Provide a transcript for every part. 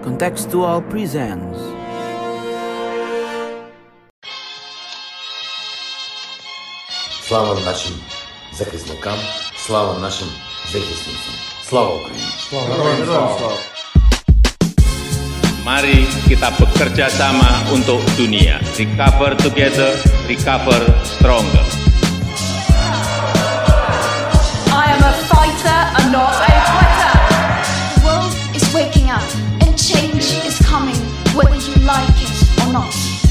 Contextual presents. Слава нашим захисникам, слава нашим захисницям. Слава Україні! Mari kita bekerja sama untuk dunia. Recover together, recover stronger. I am a fighter and not a quitter. The world is waking up and change is coming, whether you like it or not.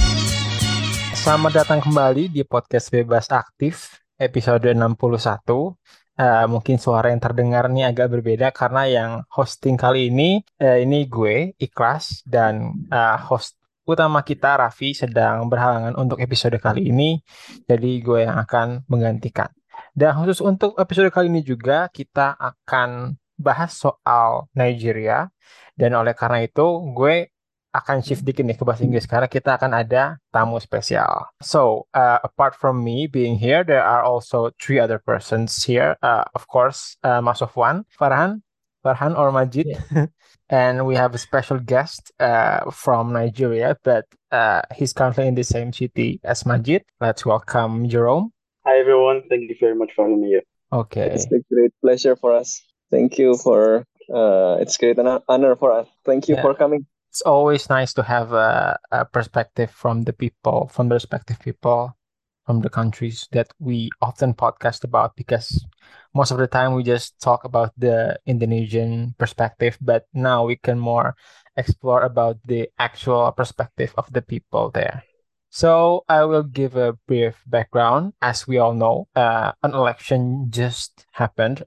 Selamat datang kembali di podcast Bebas Aktif episode 61. Mungkin suara yang terdengar ini agak berbeda karena yang hosting kali ini gue, Ikhlas, dan host utama kita, Raffi, sedang berhalangan untuk episode kali ini. Jadi gue yang akan menggantikan. Dan khusus untuk episode kali ini juga kita akan bahas soal Nigeria. Dan oleh karena itu gue akan shift dikit nih ke bahasa Inggris karena kita akan ada tamu spesial. So, apart from me being here, there are also three other persons here. Of course, Mas Sofwan, Farhan or Majid. Yeah. And we have a special guest from Nigeria, but he's currently in the same city as Majid. Let's welcome Jerome. Hi, everyone. Thank you very much for having me here. Okay. It's a great pleasure for us. Thank you for, it's great honor for us. Thank you for coming. It's always nice to have a perspective from the people, from the respective people from the countries that we often podcast about, because most of the time we just talk about the Indonesian perspective, but now we can more explore about the actual perspective of the people there. So I will give a brief background. As we all know, an election just happened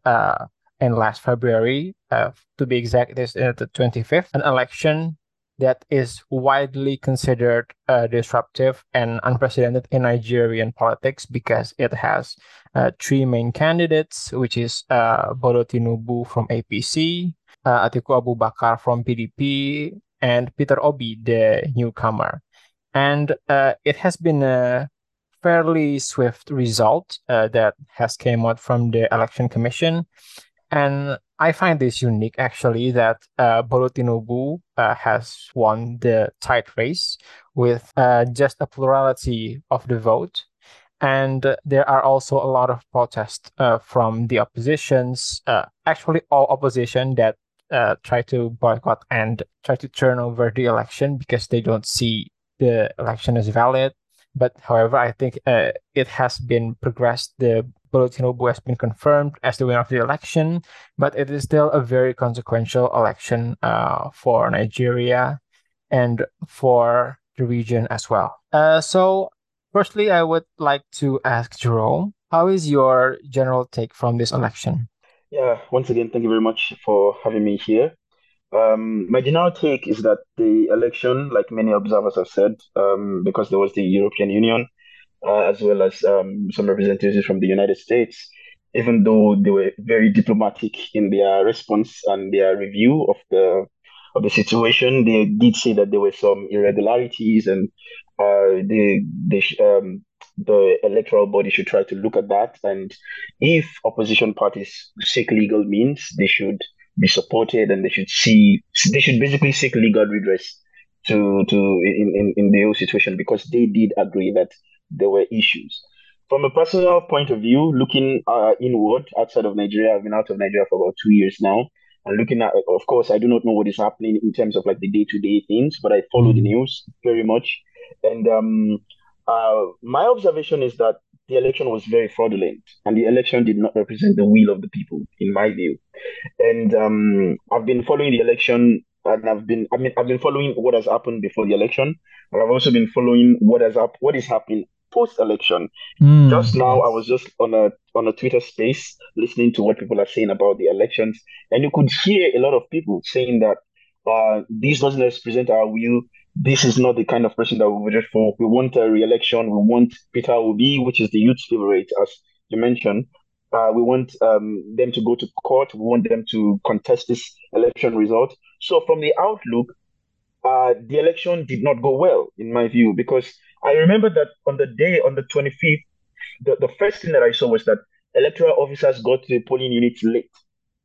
in last February. To be exact, it is the 25th. An election that is widely considered disruptive and unprecedented in Nigerian politics because it has three main candidates, which is Bola Tinubu from APC, Atiku Abubakar from PDP, and Peter Obi, the newcomer. And it has been a fairly swift result that has came out from the Election Commission. And I find this unique, actually, that Bola Tinubu has won the tight race with just a plurality of the vote. And there are also a lot of protests from the oppositions, actually all opposition that try to boycott and try to turn over the election because they don't see the election as valid. But however, I think it has been progressed. The Bola Tinubu has been confirmed as the winner of the election, but it is still a very consequential election for Nigeria and for the region as well. So, firstly, I would like to ask Jerome, how is your general take from this election? Yeah, once again, thank you very much for having me here. My general take is that the election, like many observers have said, because there was the European Union, as well as some representatives from the United States, even though they were very diplomatic in their response and their review of the situation, they did say that there were some irregularities, and the electoral body should try to look at that. And if opposition parties seek legal means, they should be supported, and they should basically seek legal redress in the whole situation, because they did agree that there were issues. From a personal point of view, looking inward outside of Nigeria, I've been out of Nigeria for about 2 years now, and looking at, of course, I do not know what is happening in terms of like the day-to-day things, but I follow the news very much. And my observation is that the election was very fraudulent, and the election did not represent the will of the people, in my view. And I've been following the election, and I've been following what has happened before the election, and I've also been following what is happening post-election. Just now, I was just on a Twitter space listening to what people are saying about the elections, and you could hear a lot of people saying that this doesn't represent our will. This is not the kind of person that we voted for. We want a re-election. We want Peter Obi, which is the youth's favorite, as you mentioned. We want them to go to court. We want them to contest this election result. So from the outlook, the election did not go well, in my view, because I remember that on the 25th, the first thing that I saw was that electoral officers got to the polling units late.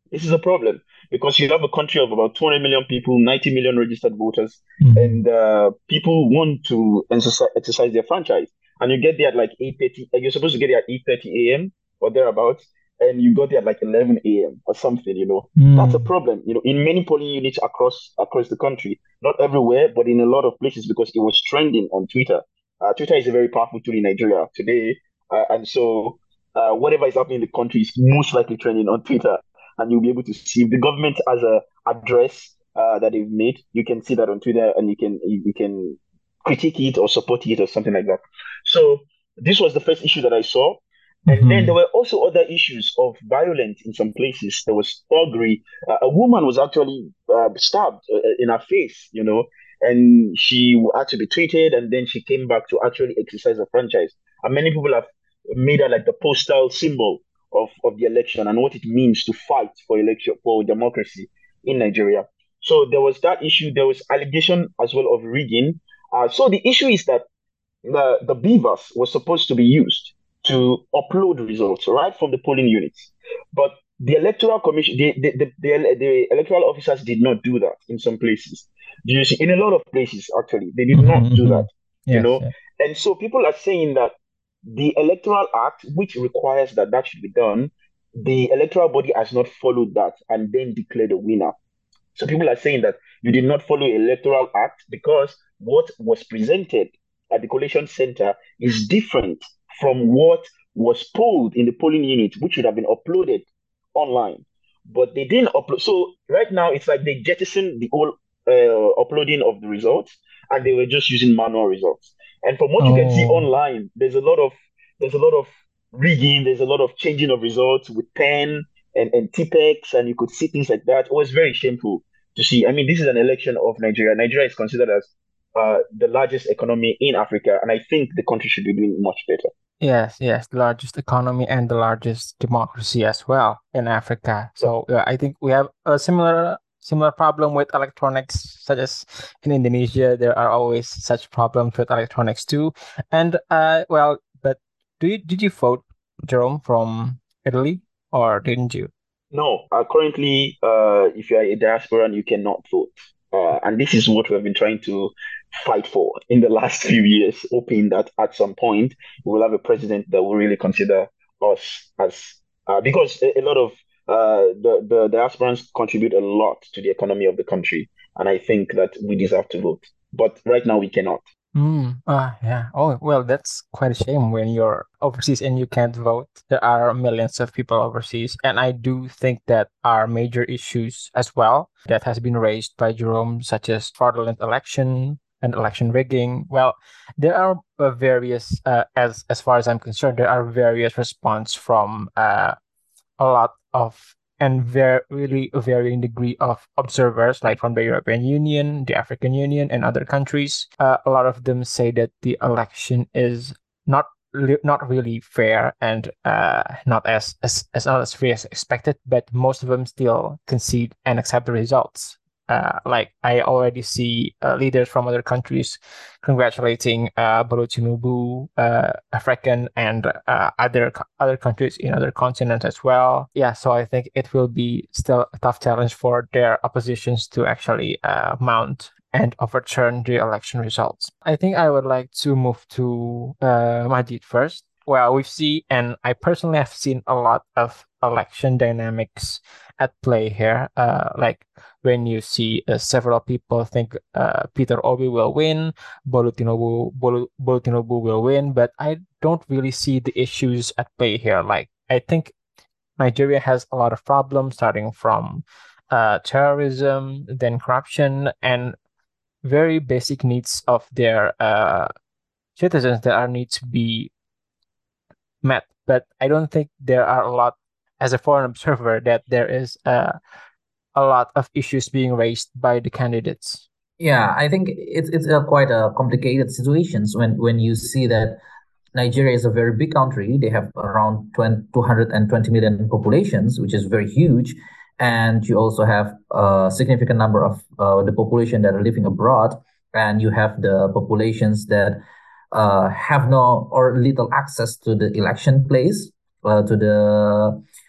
This is a problem because you have a country of about 200 million people, 90 million registered voters, Mhm. and people want to exercise their franchise. And you get there at like 8:30. You're supposed to get there at 8:30 a.m. or thereabouts, and you got there at like 11 a.m. or something. That's a Mm. problem. In many polling units across the country, not everywhere, but in a lot of places because it was trending on Twitter. Twitter is a very powerful tool in Nigeria today, and so whatever is happening in the country is most likely trending on Twitter, and you'll be able to see if the government has a address that they've made. You can see that on Twitter, and you can critique it or support it or something like that. So this was the first issue that I saw. And then there Mhm. were also other issues of violence in some places. There was thuggery. A woman was actually stabbed in her face, and she had to be treated. And then she came back to actually exercise her franchise. And many people have made her like the postal symbol of the election and what it means to fight for democracy in Nigeria. So there was that issue. There was allegation as well of rigging. So the issue is that the beavers were supposed to be used to upload results right from the polling units, but the electoral commission, the electoral officers did not do that in some places. Do you see? In a lot of places, actually, they did not Mhm. do that. Mhm. You Yes. know, Yeah. and so people are saying that the Electoral Act, which requires that should be done, the electoral body has not followed that and then declared a winner. So people are saying that you did not follow Electoral Act because what was presented at the collation center is different from what was polled in the polling unit, which should have been uploaded online. But they didn't upload. So right now it's like they jettisoned the whole uploading of the results, and they were just using manual results. And from what you can see Oh. online, there's a lot of rigging, there's a lot of changing of results with pen and TPEX, and you could see things like that. It was very shameful to see. I mean, this is an election of Nigeria. Nigeria is considered as the largest economy in Africa, and I think the country should be doing much better. Yes, yes, the largest economy and the largest democracy as well in Africa. Yeah. So I think we have a similar problem with electronics, such as in Indonesia, there are always such problems with electronics too. And well, but did you vote, Jerome, from Italy, or didn't you? No, currently, if you are a diasporan, you cannot vote. And this is what we've been trying to fight for in the last few years, hoping that at some point we will have a president that will really consider us as, because a lot of the diasporans contribute a lot to the economy of the country. And I think that we deserve to vote. But right now, we cannot. Yeah. Oh, well, that's quite a shame when you're overseas and you can't vote. There are millions of people overseas, and I do think that are major issues as well that has been raised by Jerome, such as fraudulent election and election rigging. Well, there are various, as far as I'm concerned, there are various response from a lot of and very really a varying degree of observers, like from the European Union, the African Union, and other countries. A lot of them say that the election is not really fair and not as not as fair as expected. But most of them still concede and accept the results. Like I already see leaders from other countries congratulating Bola Tinubu, African and other countries in other continents as well. Yeah, so I think it will be still a tough challenge for their oppositions to actually mount and overturn the election results. I think I would like to move to Majid first. Well, we've seen, and I personally have seen a lot of election dynamics at play here. Like when you see several people think Peter Obi will win, Bolutinobu will win, but I don't really see the issues at play here. Like I think Nigeria has a lot of problems, starting from terrorism, then corruption, and very basic needs of their citizens that are need to be met. But I don't think there are a lot, as a foreign observer, that there is a lot of issues being raised by the candidates. Yeah, I think it's quite a complicated situations when you see that Nigeria is a very big country. They have around 220 million populations, which is very huge. And you also have a significant number of the population that are living abroad. And you have the populations that have no or little access to the election place, to the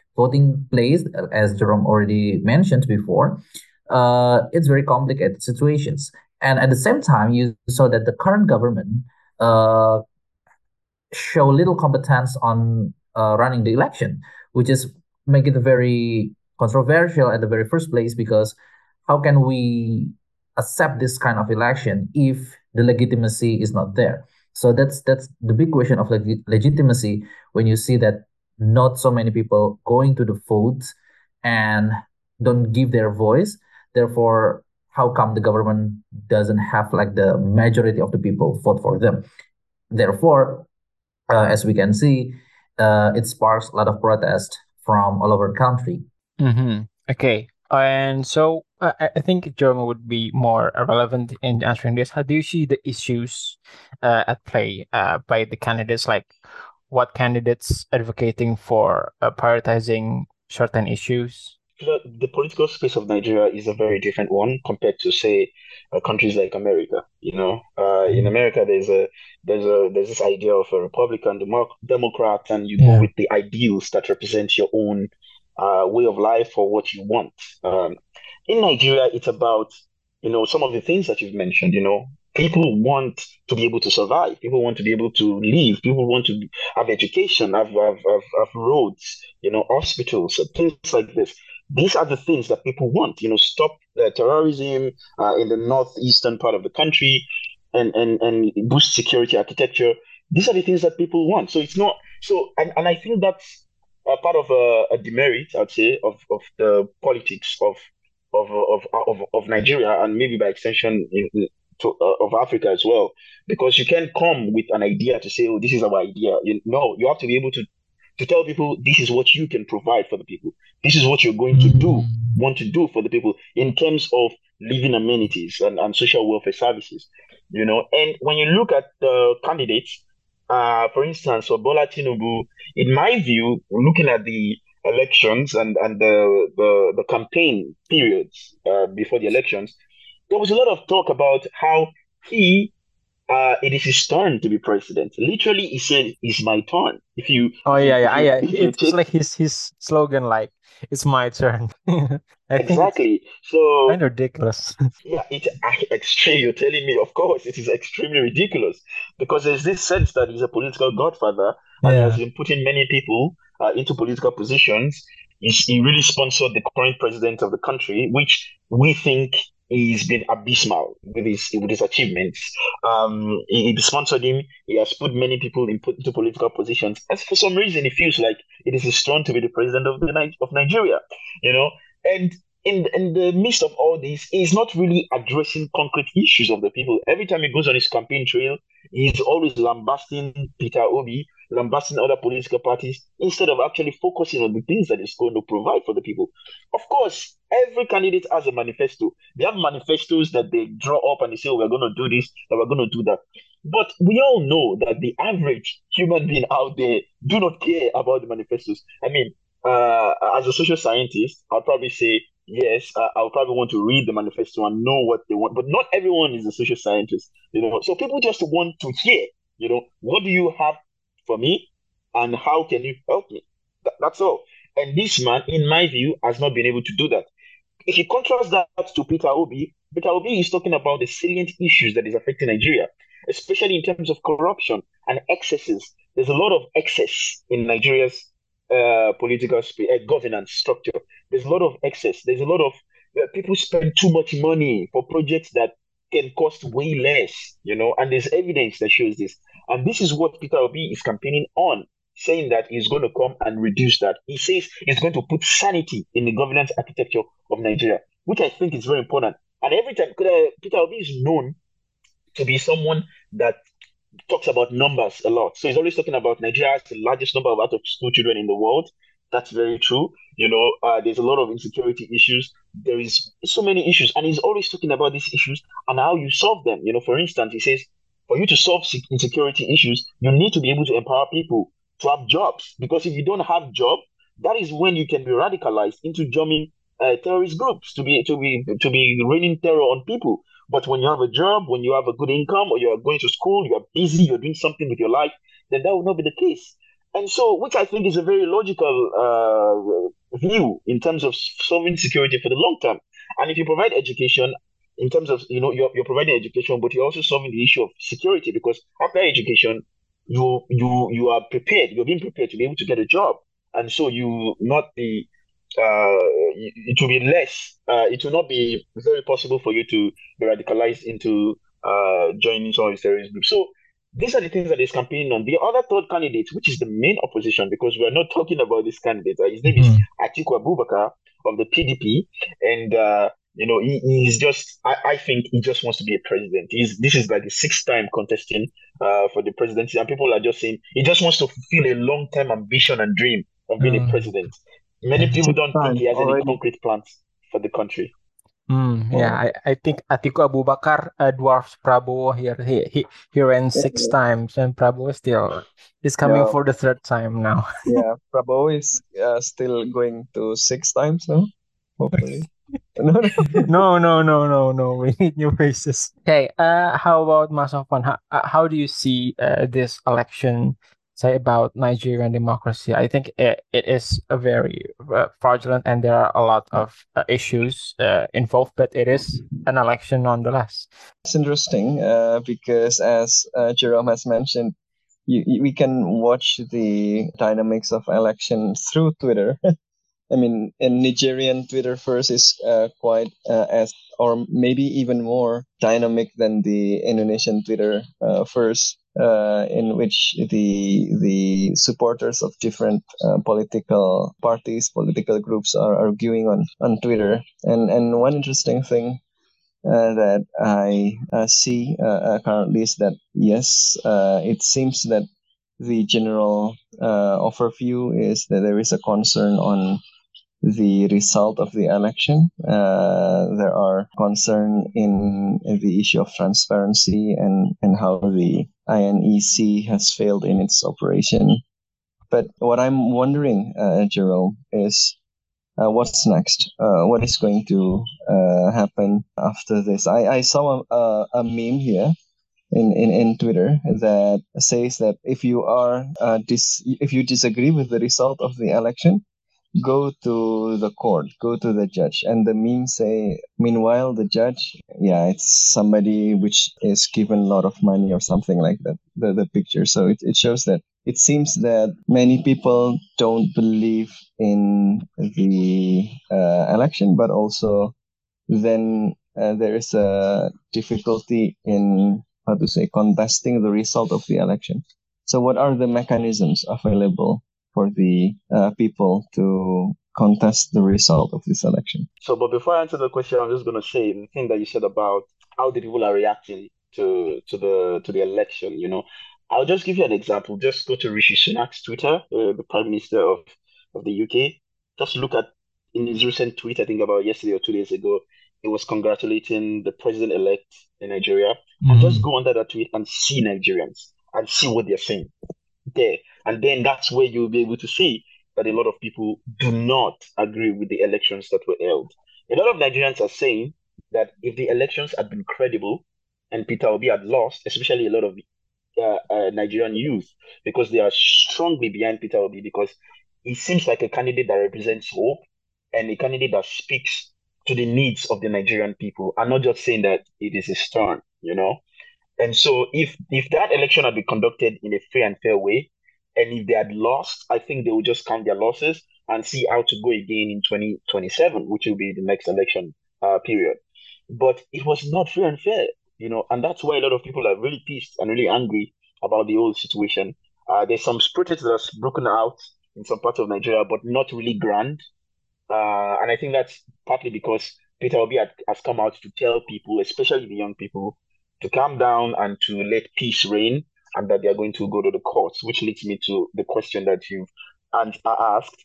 voting place, as Jerome already mentioned before, it's very complicated situations. And at the same time, you saw that the current government uh, show little competence on running the election, which is make it very controversial at the very first place, because how can we accept this kind of election if the legitimacy is not there? So that's the big question of legitimacy, when you see that not so many people going to the vote and don't give their voice. Therefore, how come the government doesn't have like the majority of the people vote for them? Therefore, as we can see, it sparks a lot of protest from all over the country. Okay. And so I think Jerome would be more relevant in answering this. How do you see the issues at play by the candidates? Like, what candidates advocating for prioritizing certain issues? The political space of Nigeria is a very different one compared to, say, countries like America. In America, there's this idea of a Republican, Democrat, and you go with the ideals that represent your own way of life or what you want. In Nigeria, it's about some of the things that you've mentioned. People want to be able to survive. People want to be able to live. People want to have education, have roads, hospitals, things like this. These are the things that people want. Stop terrorism in the northeastern part of the country, and boost security architecture. These are the things that people want. So it's not so, and I think that's a part of a demerit, I'd say, of the politics of Nigeria, and maybe by extension of Africa as well, because you can't come with an idea to say, "Oh, this is our idea." You have to be able to tell people this is what you can provide for the people. This is what you're going to want to do for the people in terms of living amenities and social welfare services. And when you look at the candidates, for instance, for Bola Tinubu, in my view, looking at the elections and the campaign periods before the elections, there was a lot of talk about how it is his turn to be president. Literally, he said, "It's my turn." It's like his slogan, like, "It's my turn." Exactly. So kind of ridiculous. Yeah, it's extreme. You're telling me, of course, it is extremely ridiculous, because there's this sense that he's a political godfather and he has been putting many people into political positions. He really sponsored the current president of the country, which we think he's been abysmal with his achievements. He sponsored him. He has put many people into political positions. And for some reason, it feels like it is his turn to be the president of Nigeria. And in the midst of all this, he's not really addressing concrete issues of the people. Every time he goes on his campaign trail, he's always lambasting Peter Obi, lambasting other political parties, instead of actually focusing on the things that he's going to provide for the people. Of course, every candidate has a manifesto. They have manifestos that they draw up and they say, "Oh, we're going to do this, and we're going to do that." But we all know that the average human being out there do not care about the manifestos. I mean, as a social scientist, I'll probably say, yes, I'll probably want to read the manifesto and know what they want. But not everyone is a social scientist, So people just want to hear, what do you have for me, and how can you help me? That's all. And this man, in my view, has not been able to do that. If you contrast that to Peter Obi is talking about the salient issues that is affecting Nigeria, especially in terms of corruption and excesses. There's a lot of excess in Nigeria's political governance structure. There's a lot of excess. There's a lot of people spend too much money for projects that can cost way less, and there's evidence that shows this. And this is what Peter Obi is campaigning on, saying that he's going to come and reduce that. He says he's going to put sanity in the governance architecture of Nigeria, which I think is very important. And every time, Peter Obi is known to be someone that talks about numbers a lot. So he's always talking about Nigeria has the largest number of out-of-school children in the world. That's very true. There's a lot of insecurity issues. There is so many issues, and he's always talking about these issues and how you solve them. For instance, he says, for you to solve insecurity issues, you need to be able to empower people to have jobs. Because if you don't have job, that is when you can be radicalized into joining terrorist groups to be raining terror on people. But when you have a job, when you have a good income, or you are going to school, you are busy, you're doing something with your life, then that will not be the case. And so, which I think is a very logical view in terms of solving security for the long term. And if you provide education, in terms of, you're providing education, but you're also solving the issue of security, because after education, you are prepared, you're being prepared to be able to get a job. And so you not be it will be less, it will not be very possible for you to be radicalized into joining some of these terrorist groups. So these are the things that he's campaigning on. The other third candidate, which is the main opposition, because we're not talking about this candidate, his name is Atiku Abubakar of the PDP, and he's just, I think he just wants to be a president. This is like the sixth time contesting for the presidency, and people are just saying he just wants to fulfill a long-term ambition and dream of being a president. Many people don't think he has any concrete plans for the country. Yeah, I think Atiku Abubakar dwarfs Prabowo here. He ran 6 times, and Prabowo still is coming for the 3rd time now. Yeah, Prabowo is still going to 6 times now, hopefully. No. We need new faces. Okay, how about Mas Sofwan? How do you see this election, say, about Nigerian democracy? I think it is a very fraudulent, and there are a lot of issues involved, but it is an election nonetheless. It's interesting because, as Jerome has mentioned, we can watch the dynamics of election through Twitter. I mean, in Nigerian Twitter first is quite as, or maybe even more dynamic than the Indonesian Twitter first, in which the supporters of different political parties, political groups are arguing on Twitter. And one interesting thing that I see currently is that, yes, it seems that the general overview is that there is a concern on the result of the election. There are concern in the issue of transparency and how the INEC has failed in its operation. But what I'm wondering, Jerome, is what's next? What is going to happen after this? I saw a meme here in Twitter that says that if you are if you disagree with the result of the election, go to the court, go to the judge. And the meme say, meanwhile, the judge, it's somebody which is given a lot of money or something like that, the picture. So it shows that it seems that many people don't believe in the election, but also then there is a difficulty in, contesting the result of the election. So what are the mechanisms available for the people to contest the result of this election? So, but before I answer the question, I'm just going to say the thing that you said about how the people are reacting to the election. I'll just give you an example. Just go to Rishi Sunak's Twitter, the Prime Minister of the UK. Just look at in his recent tweet, I think about yesterday or 2 days ago, he was congratulating the president-elect in Nigeria. And just go under that tweet and see Nigerians and see what they're saying there. And then that's where you'll be able to see that a lot of people do not agree with the elections that were held. A lot of Nigerians are saying that if the elections had been credible and Peter Obi had lost, especially a lot of Nigerian youth, because they are strongly behind Peter Obi, because he seems like a candidate that represents hope and a candidate that speaks to the needs of the Nigerian people. I'm not just saying that it is his turn, And so if that election had been conducted in a free and fair way, and if they had lost, I think they would just count their losses and see how to go again in 2027, which will be the next election period. But it was not free and fair, and that's why a lot of people are really pissed and really angry about the whole situation. There's some protests that's broken out in some parts of Nigeria, but not really grand. And I think that's partly because Peter Obi has come out to tell people, especially the young people, to calm down and to let peace reign, and that they are going to go to the courts, which leads me to the question that you've asked.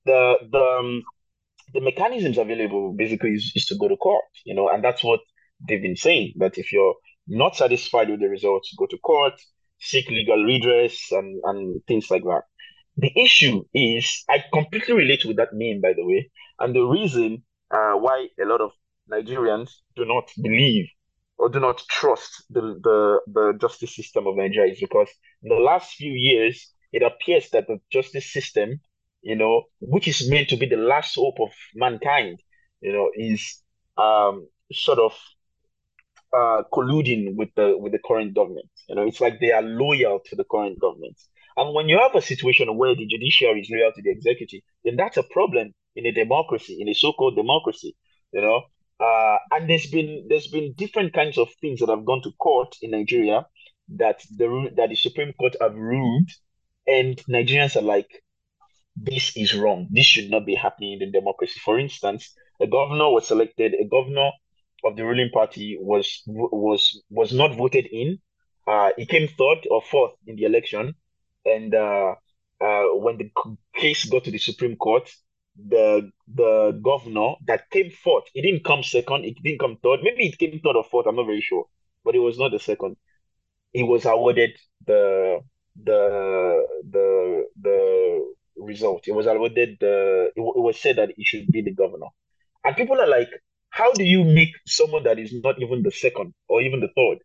The mechanisms available basically is to go to court, and that's what they've been saying, that if you're not satisfied with the results, go to court, seek legal redress and things like that. The issue is, I completely relate with that meme, by the way, and the reason why a lot of Nigerians do not believe or do not trust the justice system of Nigeria is because in the last few years, it appears that the justice system, which is meant to be the last hope of mankind, is sort of colluding with the current government. It's like they are loyal to the current government. And when you have a situation where the judiciary is loyal to the executive, then that's a problem in a democracy, in a so-called democracy. You know, and there's been different kinds of things that have gone to court in Nigeria that the Supreme Court have ruled, and Nigerians are like, this is wrong. This should not be happening in the democracy. For instance, a governor of the ruling party was not voted in. He came third or fourth in the election, and when the case got to the Supreme Court, the governor that came fourth, he didn't come second, he didn't come third. Maybe it came third or fourth. I'm not very sure, but it was not the second. He was awarded the result. It was awarded it was said that he should be the governor. And people are like, how do you make someone that is not even the second or even the third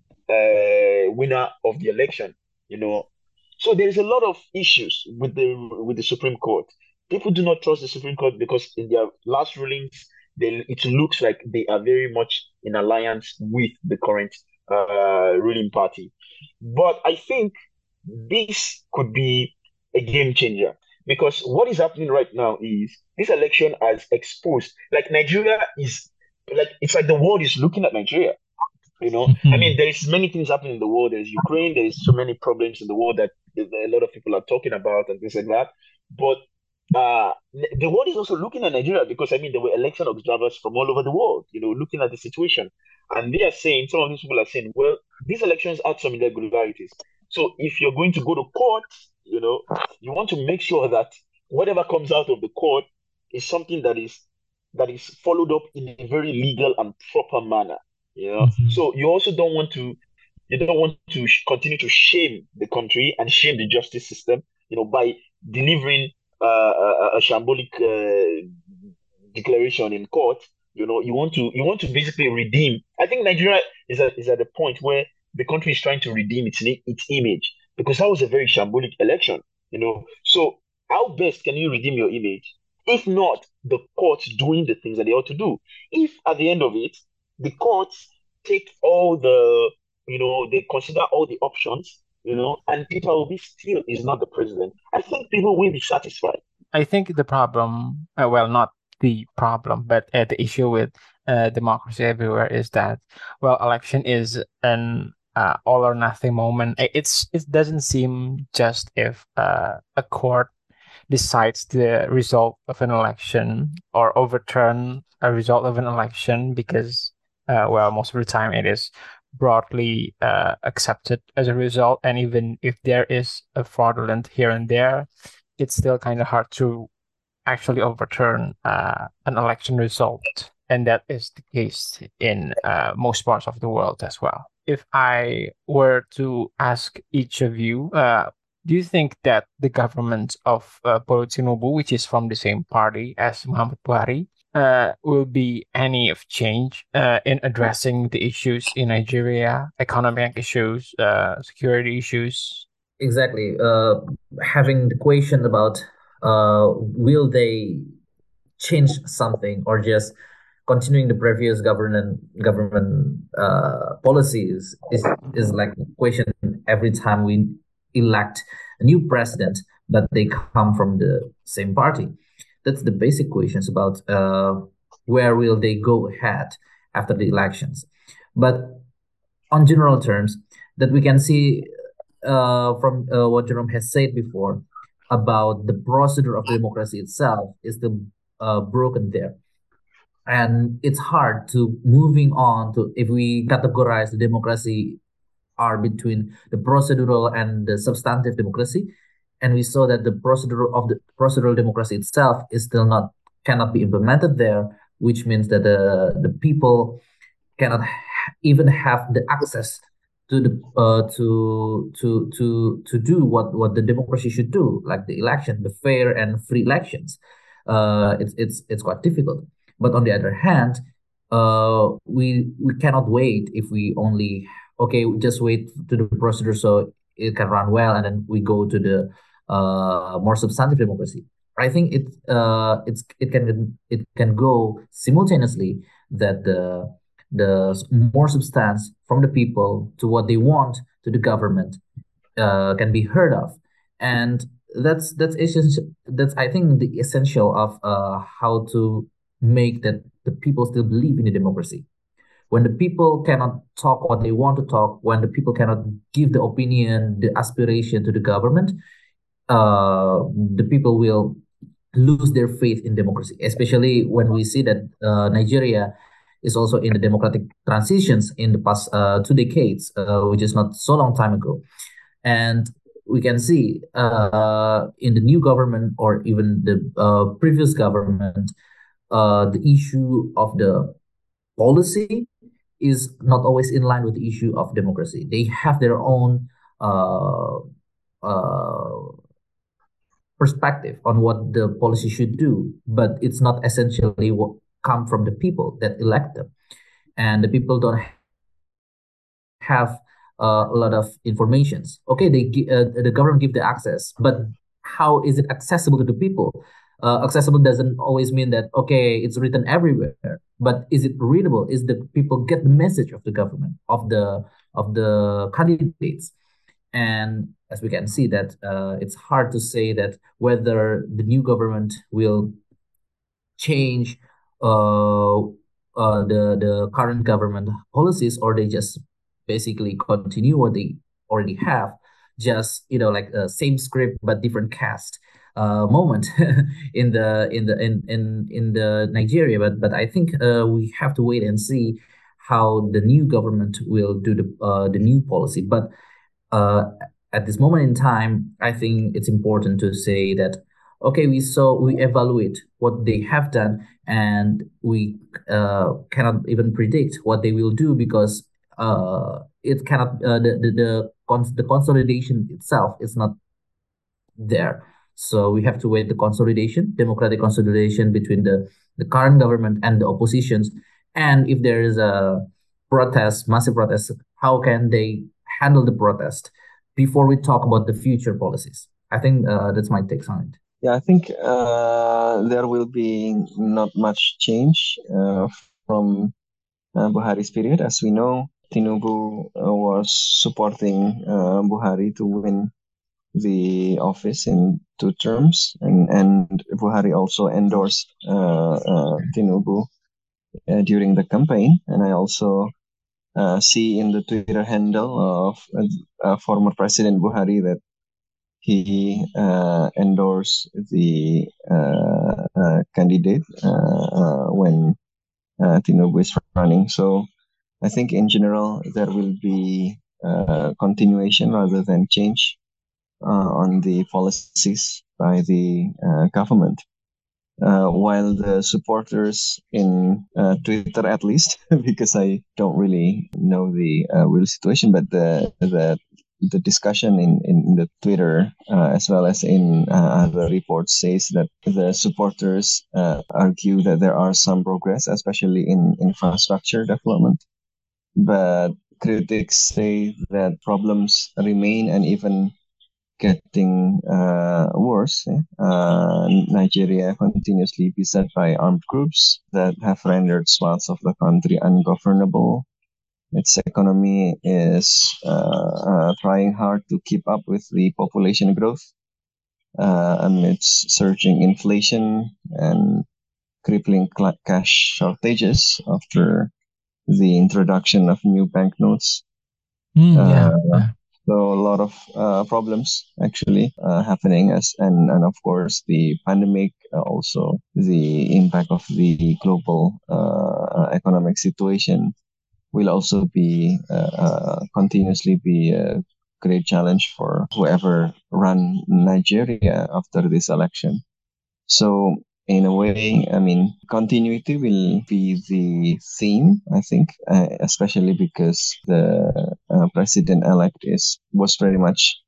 winner of the election? So there's a lot of issues with the Supreme Court. People do not trust the Supreme Court because in their last rulings, it looks like they are very much in alliance with the current ruling party. But I think this could be a game changer because what is happening right now is this election has exposed, like Nigeria is, like it's like the world is looking at Nigeria. I mean, there is many things happening in the world. There's Ukraine. There is so many problems in the world that a lot of people are talking about and things like that. But the world is also looking at Nigeria because I mean there were election observers from all over the world, looking at the situation, and they are saying, some of these people are saying, well, these elections had some irregularities. So if you're going to go to court, you want to make sure that whatever comes out of the court is something that is followed up in a very legal and proper manner. So you don't want to continue to shame the country and shame the justice system, by delivering a shambolic declaration in court. You want to basically redeem. I think Nigeria is at the point where the country is trying to redeem its image because that was a very shambolic election. So how best can you redeem your image if not the courts doing the things that they ought to do? If at the end of it, the courts take they consider all the options, and Peter Obi still is not the president, I think people will be satisfied. I think the problem, well, not the problem, but the issue with democracy everywhere is that, well, election is an all or nothing moment. It doesn't seem just if a court decides the result of an election or overturn a result of an election because, well, most of the time it is broadly accepted as a result. And even if there is a fraudulent here and there, it's still kind of hard to actually overturn an election result. And that is the case in most parts of the world as well. If I were to ask each of you, do you think that the government of Paul Tinubu, which is from the same party as Muhammad Buhari, will be any of change in addressing the issues in Nigeria, economic issues, security issues? Exactly. Having the question about will they change something or just continuing the previous government policies is like a question every time we elect a new president, but they come from the same party. That's the basic questions about where will they go ahead after the elections. But on general terms, that we can see from what Jerome has said before about the procedure of democracy itself is still broken there. And it's hard to moving on to, if we categorize the democracy are between the procedural and the substantive democracy, and we saw that the procedural democracy itself is still cannot be implemented there, which means that the people cannot even have the access to the to do what the democracy should do, like the election, the fair and free elections. It's quite difficult. But on the other hand, we cannot wait if we only just wait to the procedure so it can run well, and then we go to the more substantive democracy. I think it can go simultaneously, that the more substance from the people to what they want to the government can be heard of, and that's essential. That's, I think, the essential of how to make that the people still believe in the democracy. When the people cannot talk what they want to talk, when the people cannot give the opinion, the aspiration to the government, the people will lose their faith in democracy, especially when we see that Nigeria is also in the democratic transitions in the past 2 decades, which is not so long time ago. And we can see in the new government, or even the previous government, the issue of the policy is not always in line with the issue of democracy. They have their own uh, uh, perspective on what the policy should do, but it's not essentially what come from the people that elect them, and the people don't have a lot of informations. Okay, the government give the access, but how is it accessible to the people? Accessible doesn't always mean that, okay, it's written everywhere, but is it readable? Is the people get the message of the government, of the candidates? And as we can see that it's hard to say that whether the new government will change the current government policies, or they just basically continue what they already have, just like a same script but different cast moment in the Nigeria. But I think we have to wait and see how the new government will do the new policy. But uh, at this moment in time, I think it's important to say that, okay, we evaluate what they have done, and we cannot even predict what they will do, because it cannot the consolidation itself is not there. So we have to wait the consolidation, democratic consolidation between the current government and the oppositions. And if there is a protest, massive protest, how can they handle the protest before we talk about the future policies? I think that's my take on it. Yeah, I think there will be not much change from Buhari's period. As we know, Tinubu was supporting Buhari to win the office in 2 terms, and Buhari also endorsed Tinubu during the campaign. And I also see in the Twitter handle of former President Buhari that he endorsed the candidate when Tinubu is running. So I think in general there will be continuation rather than change on the policies by the government. While the supporters in Twitter, at least, because I don't really know the real situation, but the discussion in the Twitter as well as in other reports says that the supporters argue that there are some progress, especially in infrastructure development, but critics say that problems remain and even getting worse. Nigeria continuously beset by armed groups that have rendered swaths of the country ungovernable. Its economy is trying hard to keep up with the population growth amidst surging inflation and crippling cash shortages after the introduction of new banknotes. Yeah. So a lot of problems actually happening, and of course the pandemic, also the impact of the global economic situation will also be continuously be a great challenge for whoever run Nigeria after this election. So in a way, I mean, continuity will be the theme, I think, especially because the president-elect is pretty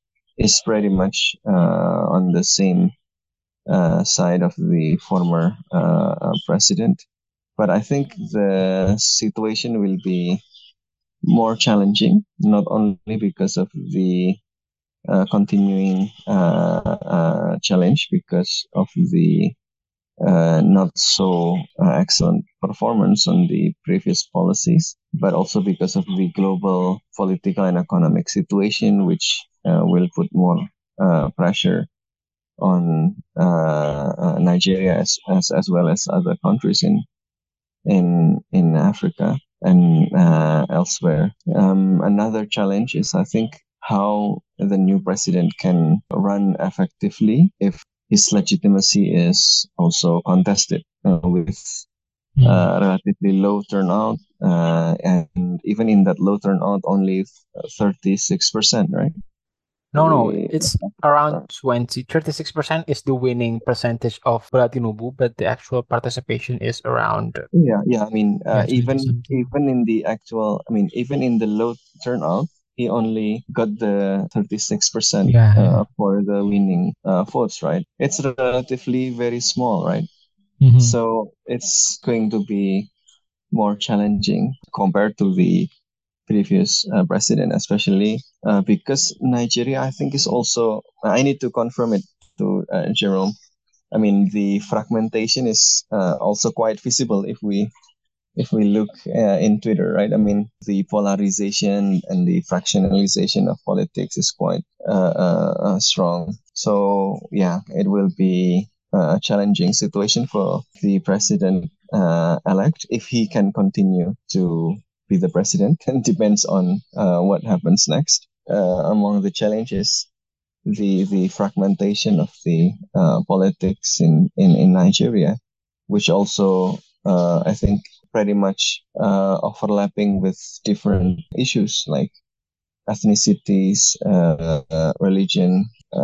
much on the same side of the former president. But I think the situation will be more challenging, not only because of the continuing challenge because of the not so excellent performance on the previous policies, but also because of the global political and economic situation, which will put more pressure on Nigeria as well as other countries in Africa and elsewhere. Another challenge is, I think, how the new president can run effectively if his legitimacy is also contested with relatively low turnout, and even in that low turnout, only 36%, right? No, it's around 36% is the winning percentage of Bola Tinubu, but the actual participation is around. Yeah. I mean, even in the actual, even in the low turnout, he only got the 36% for the winning votes, right? It's relatively very small, right? So it's going to be more challenging compared to the previous president, especially because Nigeria, I think, is also, I need to confirm it to Jerome. I mean, the fragmentation is also quite visible if we look in Twitter, right? I mean, the polarization and the fractionalization of politics is quite strong. So yeah, it will be a challenging situation for the president elect if he can continue to be the president. And depends on what happens next. Among the challenges, the fragmentation of the politics in Nigeria, which also I think pretty much overlapping with different issues like ethnicities, religion,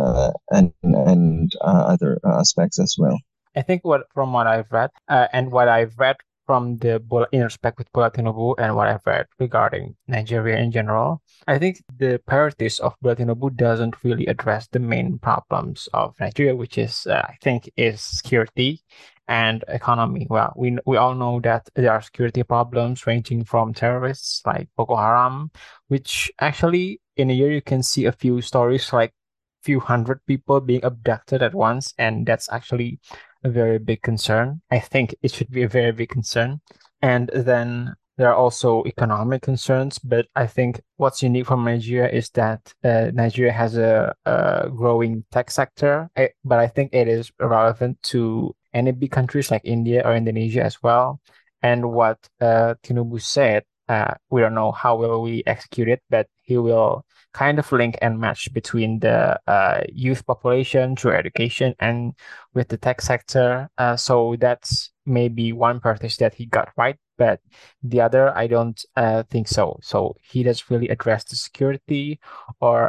and other aspects as well. I think from what I've read, and what I've read from in respect with Bola Tinubu and what I've read regarding Nigeria in general, I think the priorities of Bola Tinubu doesn't really address the main problems of Nigeria, which is, I think, is security and economy. Well, we all know that there are security problems ranging from terrorists like Boko Haram, which actually in a year you can see a few stories like few hundred people being abducted at once, and that's actually a very big concern. I think it should be a very big concern. And then there are also economic concerns, but I think what's unique from Nigeria is that Nigeria has a growing tech sector, but I think it is relevant to any big countries like India or Indonesia as well. And what Tinubu said, we don't know how will we execute it, but he will kind of link and match between the youth population through education and with the tech sector. So that's maybe one purpose that he got right, but the other, I don't think so. So he doesn't really address the security or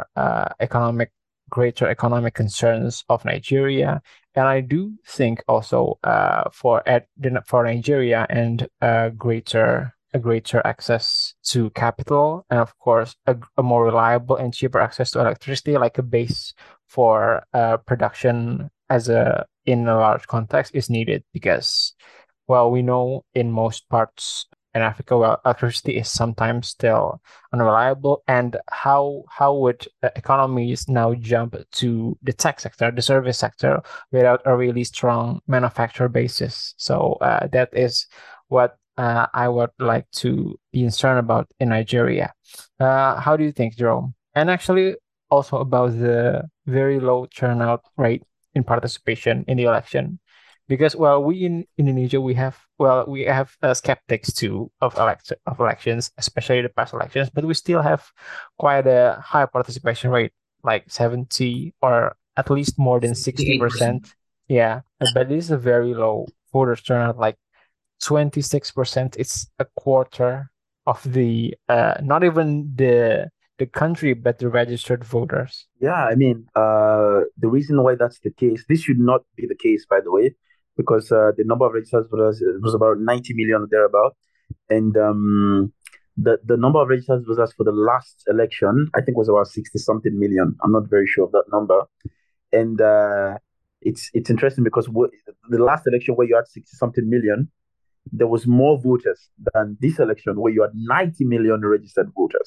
greater economic concerns of Nigeria. And I do think also for Nigeria and greater access to capital, and of course a more reliable and cheaper access to electricity, like a base for production in a large context is needed, because, well, we know in most parts in Africa, well, electricity is sometimes still unreliable. And how would economies now jump to the tech sector, the service sector, without a really strong manufacturer basis? So that is what I would like to be concerned about in Nigeria. How do you think, Jerome? And actually also about the very low turnout rate in participation in the election, because, well, we in Indonesia, we have skeptics too of elections, especially the past elections, but we still have quite a high participation rate, like 70 or at least more than 60%. Yeah, but it is a very low voter turnout, like 26%. It's a quarter of the not even the country, but the registered voters. Yeah, I mean, the reason why that's the case, this should not be the case, by the way, because the number of registered voters was about 90 million or thereabout, and the number of registered voters for the last election, I think, was about 60 something million. I'm not very sure of that number, and it's interesting because the last election where you had 60 something million, there was more voters than this election where you had 90 million registered voters.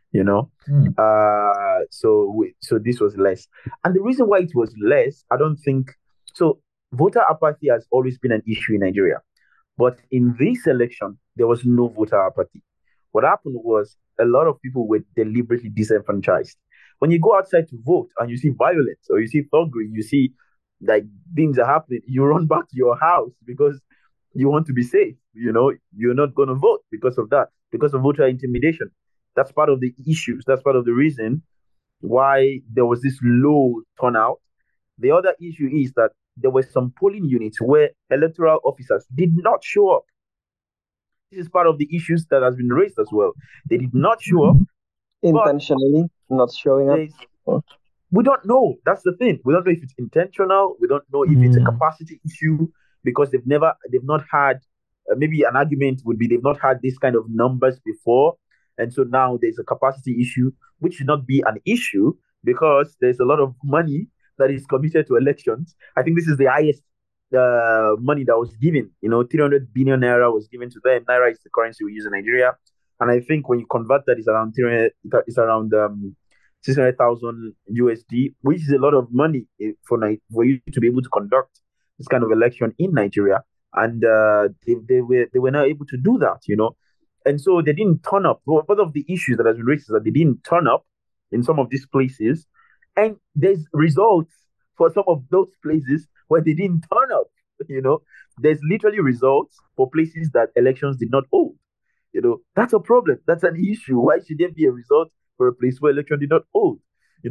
you know. Mm. So this was less. And the reason why it was less, I don't think so. Voter apathy has always been an issue in Nigeria. But in this election, there was no voter apathy. What happened was a lot of people were deliberately disenfranchised. When you go outside to vote and you see violence or you see thuggery, you see like things are happening, you run back to your house because you want to be safe. You know, you're not going to vote because of that, because of voter intimidation. That's part of the issues. That's part of the reason why there was this low turnout. The other issue is that there were some polling units where electoral officers did not show up. This is part of the issues that has been raised as well. They did not show up intentionally, not showing up. We don't know. That's the thing. We don't know if it's intentional. We don't know if it's a capacity issue because they've not had. Maybe an argument would be they've not had this kind of numbers before, and so now there's a capacity issue, which should not be an issue because there's a lot of money that is committed to elections. I think this is the highest money that was given. 300 billion naira was given to them. Naira is the currency we use in Nigeria, and I think when you convert that, it's around 300. It's around 600,000 USD, which is a lot of money for you to be able to conduct this kind of election in Nigeria. And they were not able to do that, and so they didn't turn up. One of the issues that has been raised is that they didn't turn up in some of these places, and there's results for some of those places where they didn't turn up. There's literally results for places that elections did not hold. That's a problem. That's an issue. Why should there be a result for a place where election did not hold?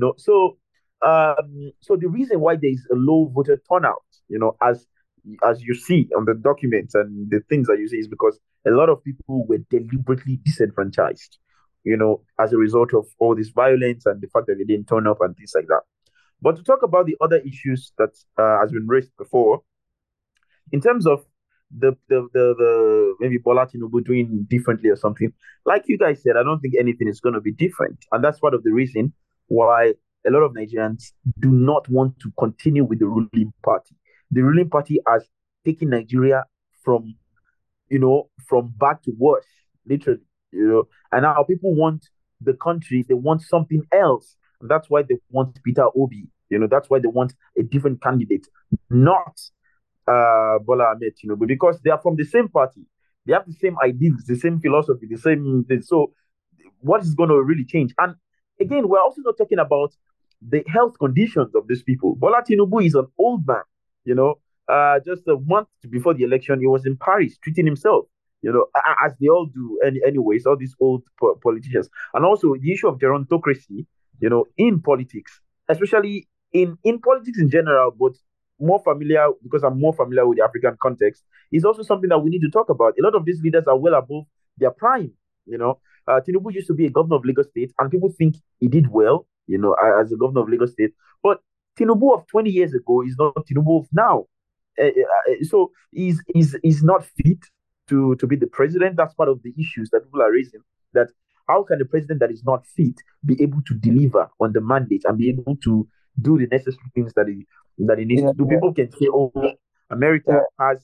So the reason why there is a low voter turnout, as you see on the documents and the things that you see, is because a lot of people were deliberately disenfranchised, as a result of all this violence and the fact that they didn't turn up and things like that. But to talk about the other issues that has been raised before, in terms of the maybe Bola Tinubu doing differently or something, like you guys said, I don't think anything is going to be different, and that's part of the reason why a lot of Nigerians do not want to continue with the ruling party. The ruling party has taken Nigeria from bad to worse, literally, and now people want the country, they want something else. And that's why they want Peter Obi, that's why they want a different candidate, not Bola Ahmed Tinubu, because they are from the same party. They have the same ideals, the same philosophy, the same thing. So what is going to really change? And again, we're also not talking about the health conditions of these people. Bola Tinubu is an old man, just a month before the election, he was in Paris treating himself, as they all do anyways, all these old politicians. And also the issue of gerontocracy, in politics, especially in politics in general, but more familiar, because I'm more familiar with the African context, is also something that we need to talk about. A lot of these leaders are well above their prime, Tinubu used to be a governor of Lagos State, and people think he did well, as a governor of Lagos State. But Tinubu of 20 years ago is not Tinubu of now. So he's not fit to be the president. That's part of the issues that people are raising. That how can the president that is not fit be able to deliver on the mandate and be able to do the necessary things that he needs to do? People can say, "Oh, America has."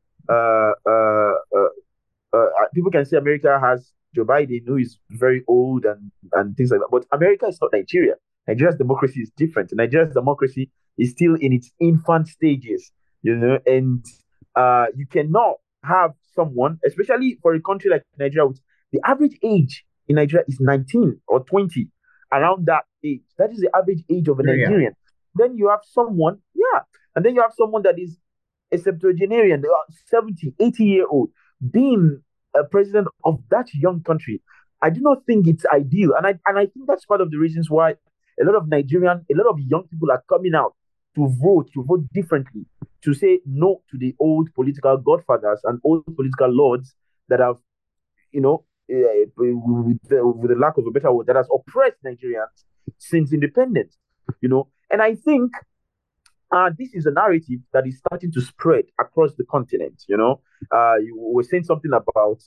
People can say America has Joe Biden, who is very old and things like that. But America is not Nigeria. Nigeria's democracy is different. Nigeria's democracy is still in its infant stages, and you cannot have someone, especially for a country like Nigeria, which the average age in Nigeria is 19 or 20, around that age. That is the average age of a Nigerian. Then you have someone, and then you have someone that is a septuagenarian, 70, 80-year-old, being a president of that young country. I do not think it's ideal. And I think that's part of the reasons why a lot of young people are coming out to vote differently, to say no to the old political godfathers and old political lords that have, with the lack of a better word, that has oppressed Nigerians since independence, And I think this is a narrative that is starting to spread across the continent. You were saying something about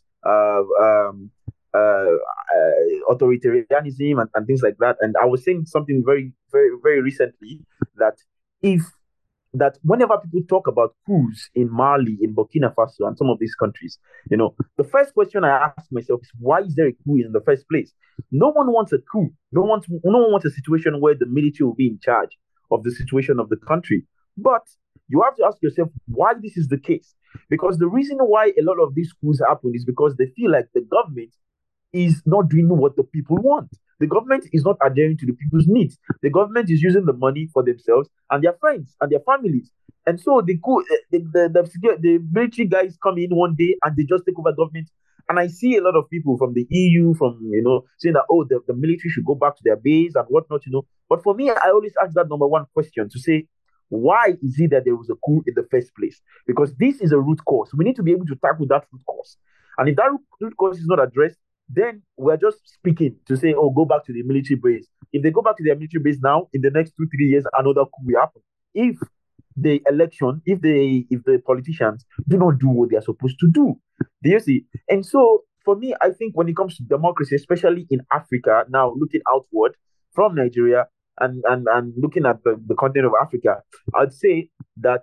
authoritarianism and things like that. And I was saying something very, very, very recently, that if that whenever people talk about coups in Mali, in Burkina Faso, and some of these countries, the first question I ask myself is, why is there a coup in the first place? No one wants a coup. No one wants a situation where the military will be in charge of the situation of the country. But you have to ask yourself why this is the case. Because the reason why a lot of these coups happen is because they feel like the government is not doing what the people want. The government is not adhering to the people's needs. The government is using the money for themselves and their friends and their families. And so the military guys come in one day and they just take over government. And I see a lot of people from the EU, saying that, oh, the military should go back to their base and whatnot. But for me, I always ask that number one question to say, why is it that there was a coup in the first place? Because this is a root cause. We need to be able to tackle that root cause. And if that root cause is not addressed, then we're just speaking to say, oh, go back to the military base. If they go back to their military base now, in the next 2-3 years, another coup will happen. If the politicians do not do what they are supposed to do. Do you see? And so for me, I think when it comes to democracy, especially in Africa, now looking outward from Nigeria and looking at the continent of Africa, I'd say that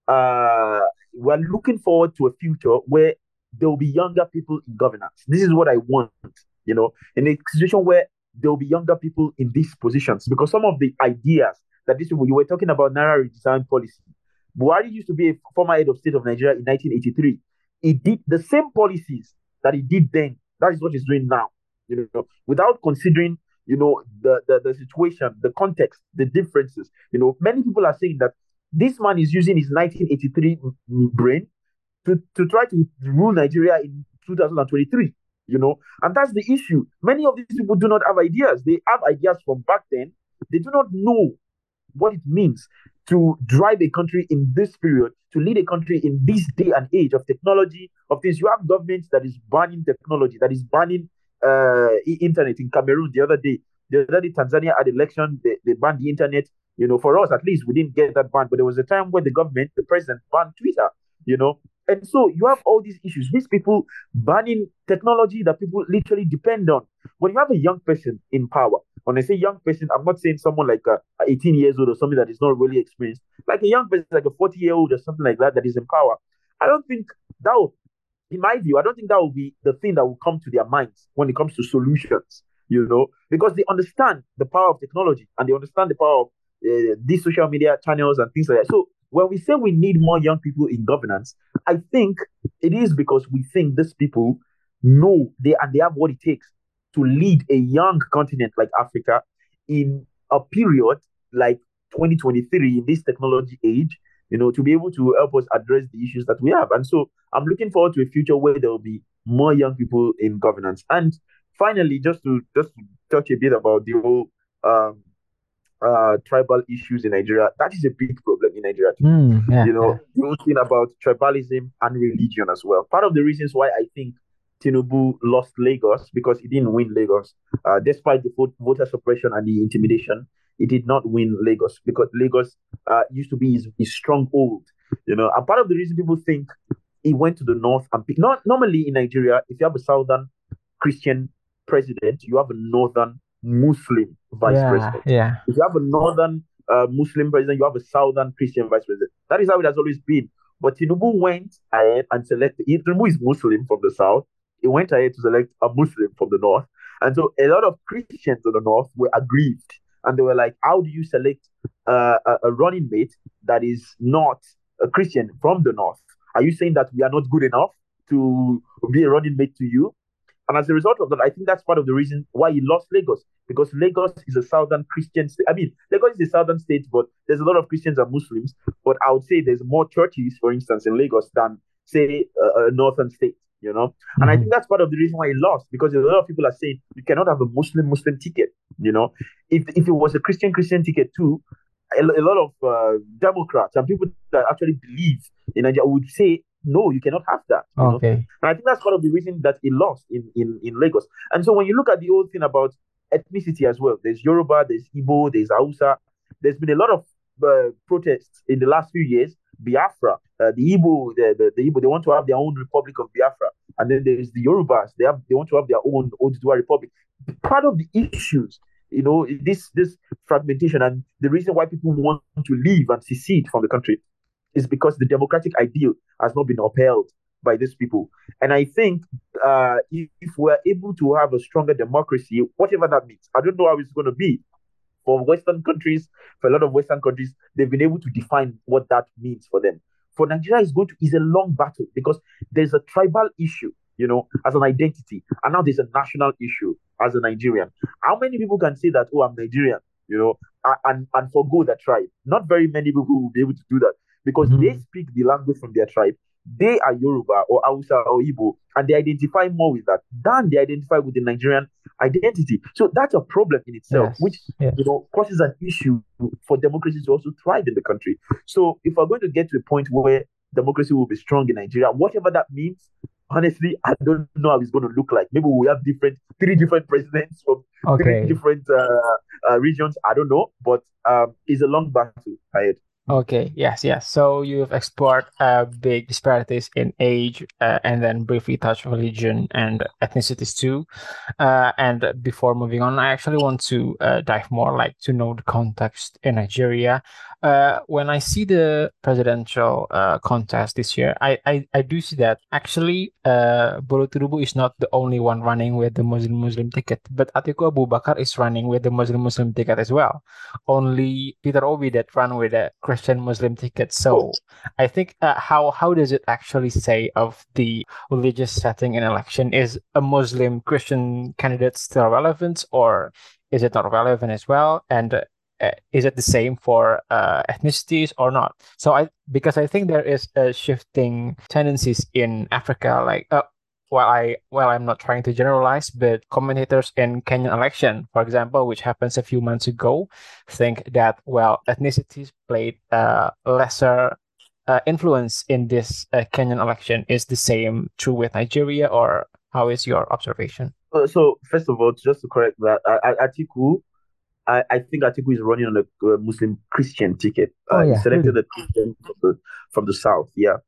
we're looking forward to a future where there will be younger people in governance. This is what I want, in a situation where there will be younger people in these positions. Because some of the ideas that these people, you were talking about Naira redesign policy. Buhari used to be a former head of state of Nigeria in 1983. He did the same policies that he did then. That is what he's doing now, without considering, the situation, the context, the differences. Many people are saying that this man is using his 1983 brain to try to rule Nigeria in 2023, and that's the issue. Many of these people do not have ideas. They have ideas from back then. They do not know what it means to drive a country in this period, to lead a country in this day and age of technology, of things. You have governments that is banning technology, that is banning internet. In Cameroon the other day, Tanzania had election, they banned the internet. For us, at least, we didn't get that ban, but there was a time when the president banned Twitter, And so you have all these issues, these people banning technology that people literally depend on. When you have a young person in power, when I say young person, I'm not saying someone like 18 years old or something that is not really experienced, like a young person, like a 40-year-old or something like that is in power. I don't think that will, in my view, I don't think that will be the thing that will come to their minds when it comes to solutions, because they understand the power of technology and they understand the power of these social media channels and things like that. So when we say we need more young people in governance, I think it is because we think these people know they have what it takes to lead a young continent like Africa in a period like 2023 in this technology age, to be able to help us address the issues that we have. And so I'm looking forward to a future where there will be more young people in governance. And finally, just to touch a bit about the whole tribal issues in Nigeria. That is a big problem in Nigeria too. The whole thing about tribalism and religion as well. Part of the reasons why I think Tinubu lost Lagos, because he didn't win Lagos, despite the voter suppression and the intimidation, he did not win Lagos because Lagos used to be his stronghold. And part of the reason people think he went to the north and not normally in Nigeria, if you have a southern Christian president, you have a northern Muslim vice president. Yeah. If you have a northern Muslim president, you have a southern Christian vice president. That is how it has always been. But Tinubu went ahead and selected. Tinubu is Muslim from the south. He went ahead to select a Muslim from the north. And so a lot of Christians in the north were aggrieved. And they were like, how do you select a running mate that is not a Christian from the north? Are you saying that we are not good enough to be a running mate to you? And as a result of that, I think that's part of the reason why he lost Lagos, because Lagos is a southern Christian state. I mean, Lagos is a southern state, but there's a lot of Christians and Muslims. But I would say there's more churches, for instance, in Lagos than, say, a northern state, And I think that's part of the reason why he lost, because a lot of people are saying you cannot have a Muslim ticket, If it was a Christian ticket too, a lot of Democrats and people that actually believe in Nigeria would say, no, you cannot have that. Okay. And I think that's part of the reason that he lost in Lagos. And so when you look at the whole thing about ethnicity as well, there's Yoruba, there's Igbo, there's Hausa. There's been a lot of protests in the last few years. Biafra, the Igbo, the Igbo, they want to have their own Republic of Biafra. And then there's the Yorubas, they want to have their own Oduduwa Republic. Part of the issues this fragmentation, and the reason why people want to leave and secede from the country is because the democratic ideal has not been upheld by these people. And I think if we're able to have a stronger democracy, whatever that means, I don't know how it's going to be. For Western countries, for a lot of Western countries, they've been able to define what that means for them. For Nigeria, is a long battle because there's a tribal issue, as an identity, and now there's a national issue as a Nigerian. How many people can say that, oh, I'm Nigerian, and forgo the tribe? Not very many people will be able to do that because they speak the language from their tribe. They are Yoruba or Hausa or Igbo, and they identify more with that than they identify with the Nigerian identity. So that's a problem in itself, which causes an issue for democracy to also thrive in the country. So if we're going to get to a point where democracy will be strong in Nigeria, whatever that means, honestly, I don't know how it's going to look like. Maybe we have three different presidents from three different regions. I don't know, but it's a long battle ahead. Okay, yes. So you've explored big disparities in age and then briefly touched religion and ethnicities too. And before moving on, I actually want to dive more, like to know the context in Nigeria. When I see the presidential contest this year, I do see that actually Bolo Tinubu is not the only one running with the Muslim ticket, but Atiku Abubakar is running with the Muslim ticket as well. Only Peter Obi that ran with a Christian Muslim ticket. So I think how does it actually say of the religious setting in election? Is a Muslim Christian candidate still relevant, or is it not relevant as well? And is it the same for ethnicities or not? So because I think there is a shifting tendencies in Africa, like I'm not trying to generalize, but commentators in Kenyan election, for example, which happens a few months ago, think that ethnicities played lesser influence in this Kenyan election. Is the same true with Nigeria, or how is your observation? So first of all, just to correct that, Atiku, I think Atiku is running on a Muslim Christian ticket. He selected a Christian from the south. Yeah.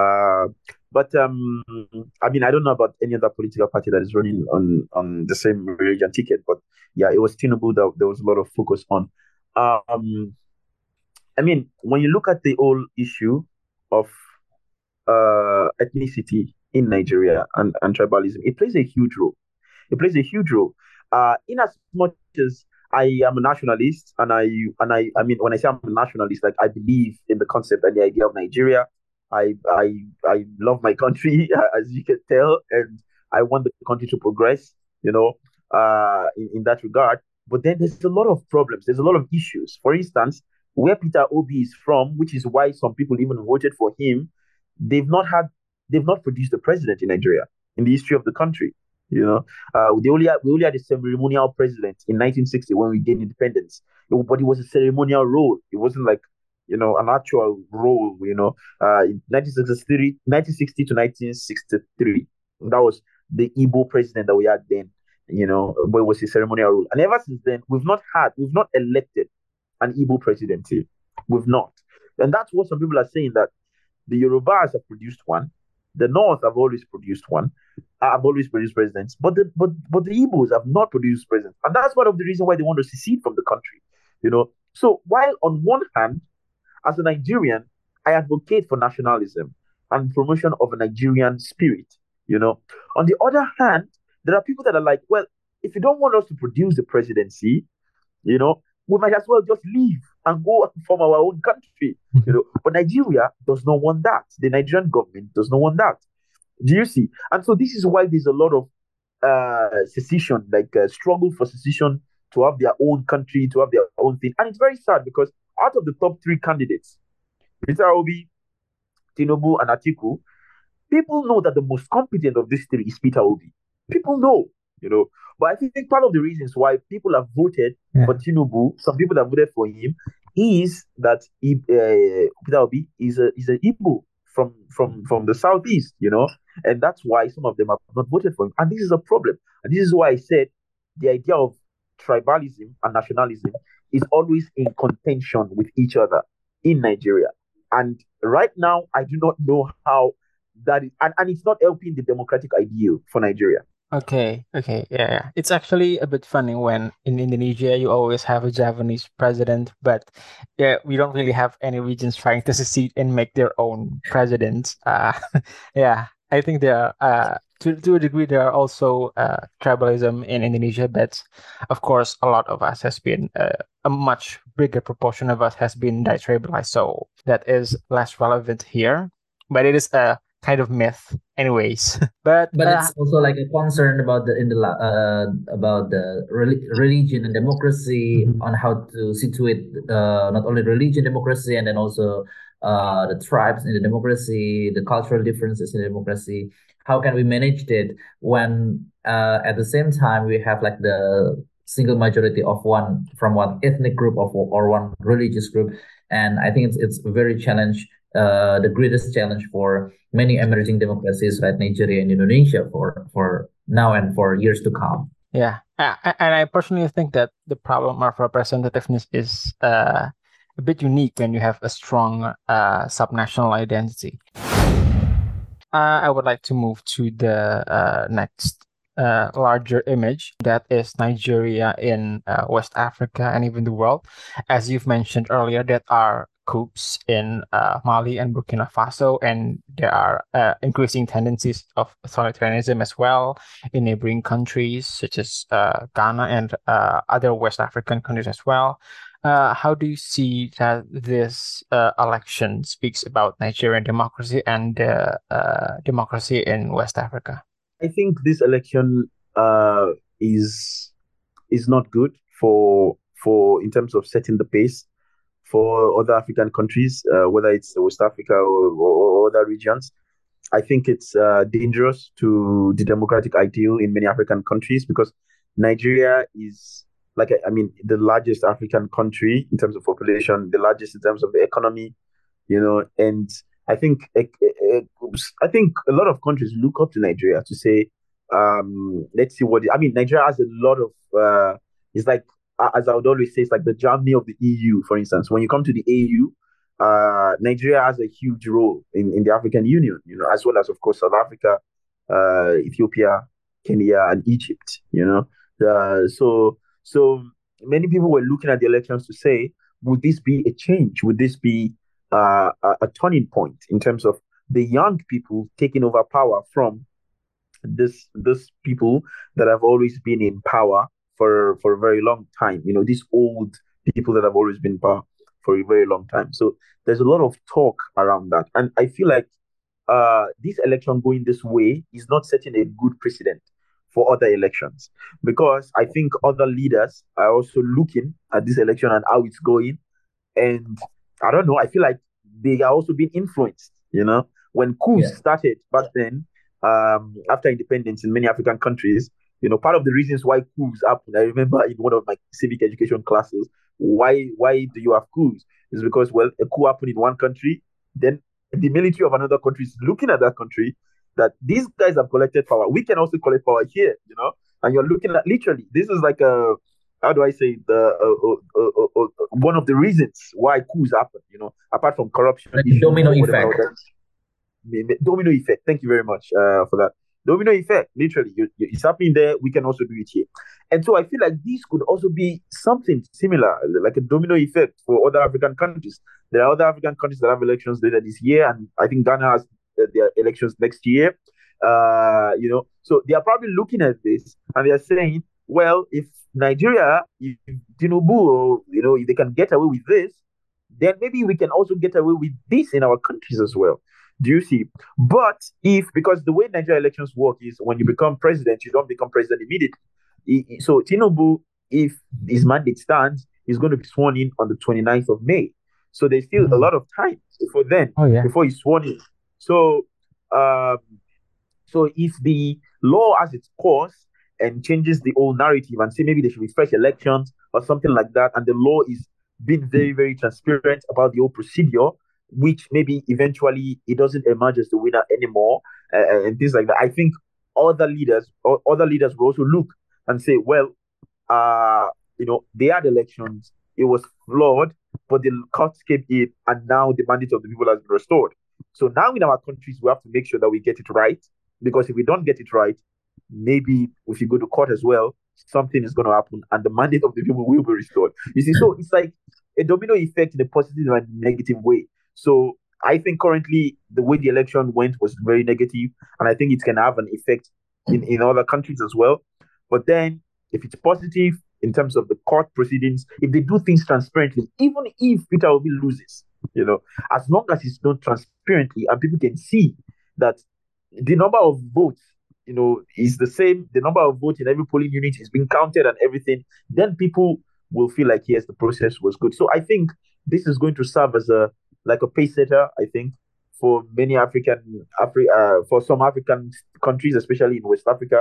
But I mean, I don't know about any other political party that is running on the same religion ticket. But yeah, it was Tinubu that there was a lot of focus on. I mean, when you look at the whole issue of ethnicity in Nigeria and tribalism, it plays a huge role. It plays a huge role. In as much as I am a nationalist, and I mean, when I say I'm a nationalist, like I believe in the concept and the idea of Nigeria. I love my country, as you can tell, and I want the country to progress, in that regard. But then there's a lot of problems. There's a lot of issues. For instance, where Peter Obi is from, which is why some people even voted for him, they've not produced a president in Nigeria in the history of the country. We only had a ceremonial president in 1960 when we gained independence, but it was a ceremonial role. It wasn't like an actual role. In 1960 to 1963, that was the Igbo president that we had then. But it was a ceremonial role, and ever since then, we've not elected an Igbo presidency. We've not, and that's what some people are saying, that the Yorubas have produced one. The North have always produced one. Have always produced presidents, but the Igbos have not produced presidents, and that's one of the reasons why they want to secede from the country. So while on one hand, as a Nigerian, I advocate for nationalism and promotion of a Nigerian spirit. On the other hand, there are people that are like, well, if you don't want us to produce the presidency, we might as well just leave and go from our own country. But Nigeria does not want that. The Nigerian government does not want that. Do you see? And so this is why there's a lot of secession, like struggle for secession, to have their own country, to have their own thing. And it's very sad because out of the top three candidates, Peter Obi, Tinubu, and Atiku, people know that the most competent of these three is Peter Obi. People know. But I think part of the reasons why people have voted for Tinubu, some people that voted for him, is that Peter Obi is an Igbo from the southeast, and that's why some of them have not voted for him. And this is a problem. And this is why I said the idea of tribalism and nationalism is always in contention with each other in Nigeria. And right now, I do not know how that is, and it's not helping the democratic ideal for Nigeria. Okay, okay, yeah, yeah. It's actually a bit funny when in Indonesia you always have a Japanese president, but yeah, we don't really have any regions trying to secede and make their own presidents. Yeah, I think there are, to a degree, there are also tribalism in Indonesia, but of course, a lot of us has been a much bigger proportion of us has been detribalized, so that is less relevant here. But it is a kind of myth, anyways. But But it's also like a concern about religion and democracy, Mhm. on how to situate not only religion, democracy, and then also the tribes in the democracy, the cultural differences in democracy. How can we manage that when at the same time we have like the single majority of one ethnic group or one religious group? And I think it's very challenge, the greatest challenge for many emerging democracies like Nigeria and Indonesia for now and for years to come. Yeah, and I personally think that the problem of representativeness is a bit unique when you have a strong subnational identity. I would like to move to the next larger image, that is Nigeria in West Africa and even the world. As you've mentioned earlier, there are coups in Mali and Burkina Faso, and there are increasing tendencies of authoritarianism as well in neighboring countries such as Ghana and other West African countries as well. How do you see that this election speaks about Nigerian democracy and democracy in West Africa? I think this election is not good for in terms of setting the pace for other African countries, whether it's West Africa or other regions. I think it's dangerous to the democratic ideal in many African countries because Nigeria is like I mean the largest African country in terms of population, the largest in terms of the economy, and I think I think a lot of countries look up to Nigeria to say, let's see what I mean. Nigeria has a lot of it's like as I would always say, it's like the Germany of the EU, for instance. When you come to the AU, Nigeria has a huge role in the African Union, as well as, of course, South Africa, Ethiopia, Kenya, and Egypt, so many people were looking at the elections to say, would this be a change? Would this be a turning point in terms of the young people taking over power from this people that have always been in power for a very long time. These old people that have always been in power for a very long time. So there's a lot of talk around that, and I feel like this election going this way is not setting a good precedent for other elections because I think other leaders are also looking at this election and how it's going, and I don't know. I feel like they are also being influenced. When coups started back then, after independence in many African countries, part of the reasons why coups happened, I remember in one of my civic education classes, why do you have coups? Is because, well, a coup happened in one country, then the military of another country is looking at that country that these guys have collected power. We can also collect power here, and you're looking at literally, this is like a, how do I say, the one of the reasons why coups happen, apart from corruption Like issues domino or whatever effect. domino effect. Thank you very much for that. Domino effect, literally, it's happening there. We can also do it here, and so I feel like this could also be something similar, like a domino effect for other African countries. There are other African countries that have elections later this year, and I think Ghana has their elections next year. So they are probably looking at this and they are saying, well, if Nigeria, if Tinubu, if they can get away with this, then maybe we can also get away with this in our countries as well. Do you see? But because the way Nigeria elections work is when you become president, you don't become president immediately. So Tinubu, if his mandate stands, he's going to be sworn in on the 29th of May. So there's still a lot of time before then, before he's sworn in. So, so if the law has its course and changes the old narrative and say maybe there should be fresh elections or something like that, and the law is being very, very transparent about the whole procedure, which maybe eventually it doesn't emerge as the winner anymore, and things like that. I think other leaders will also look and say, well, they had elections, it was flawed, but the courts came in, and now the mandate of the people has been restored. So now in our countries, we have to make sure that we get it right, because if we don't get it right, maybe if you go to court as well, something is going to happen and the mandate of the people will be restored. You see, so it's like a domino effect in a positive and negative way. So I think currently the way the election went was very negative, and I think it can have an effect in other countries as well. But then if it's positive in terms of the court proceedings, if they do things transparently, even if Peter Obi loses, as long as it's done transparently and people can see that the number of votes, is the same, the number of votes in every polling unit is being counted and everything, then people will feel like, yes, the process was good. So I think this is going to serve as a pace setter, I think, for many for some African countries, especially in West Africa,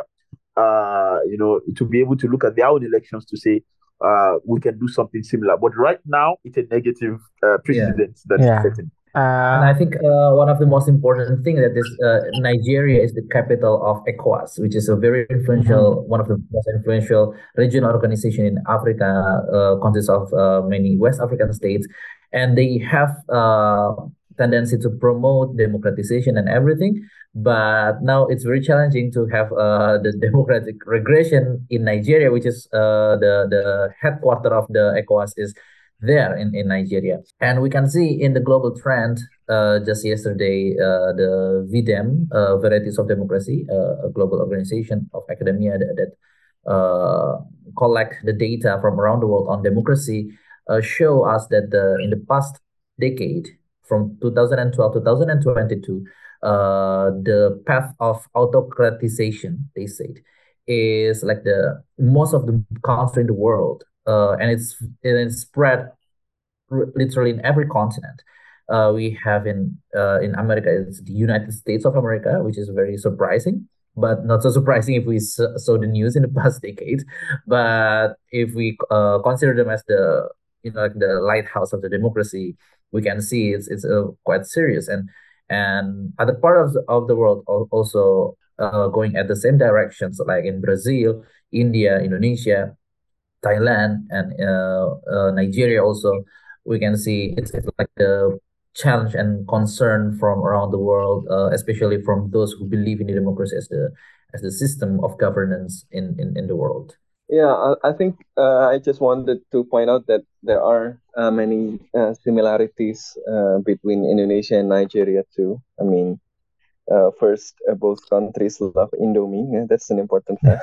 to be able to look at their own elections to say, we can do something similar. But right now, it's a negative precedent that is setting. And I think one of the most important things that is Nigeria is the capital of ECOWAS, which is a very influential, one of the most influential regional organization in Africa, consists of many West African states, and they have tendency to promote democratization and everything. But now it's very challenging to have the democratic regression in Nigeria, which is the headquarter of the ECOWAS is there in Nigeria. And we can see in the global trend, just yesterday, the VDEM, Varieties of Democracy, a global organization of academia that collect the data from around the world on democracy, show us that in the past decade, from 2012 to 2022, the path of autocratization, they said, is like the most of the country in the world, and it's spread literally in every continent. We have in America, it's the United States of America, which is very surprising, but not so surprising if we saw the news in the past decade. But if we consider them as the like the lighthouse of the democracy, we can see it's quite serious, and other parts of the world also going at the same directions, like in Brazil, India, Indonesia, Thailand, and Nigeria also. We can see it's like the challenge and concern from around the world, especially from those who believe in the democracy as the system of governance in the world. Yeah, I think I just wanted to point out that there are many similarities between Indonesia and Nigeria too. I mean, first, both countries love Indomie. Yeah, that's an important fact.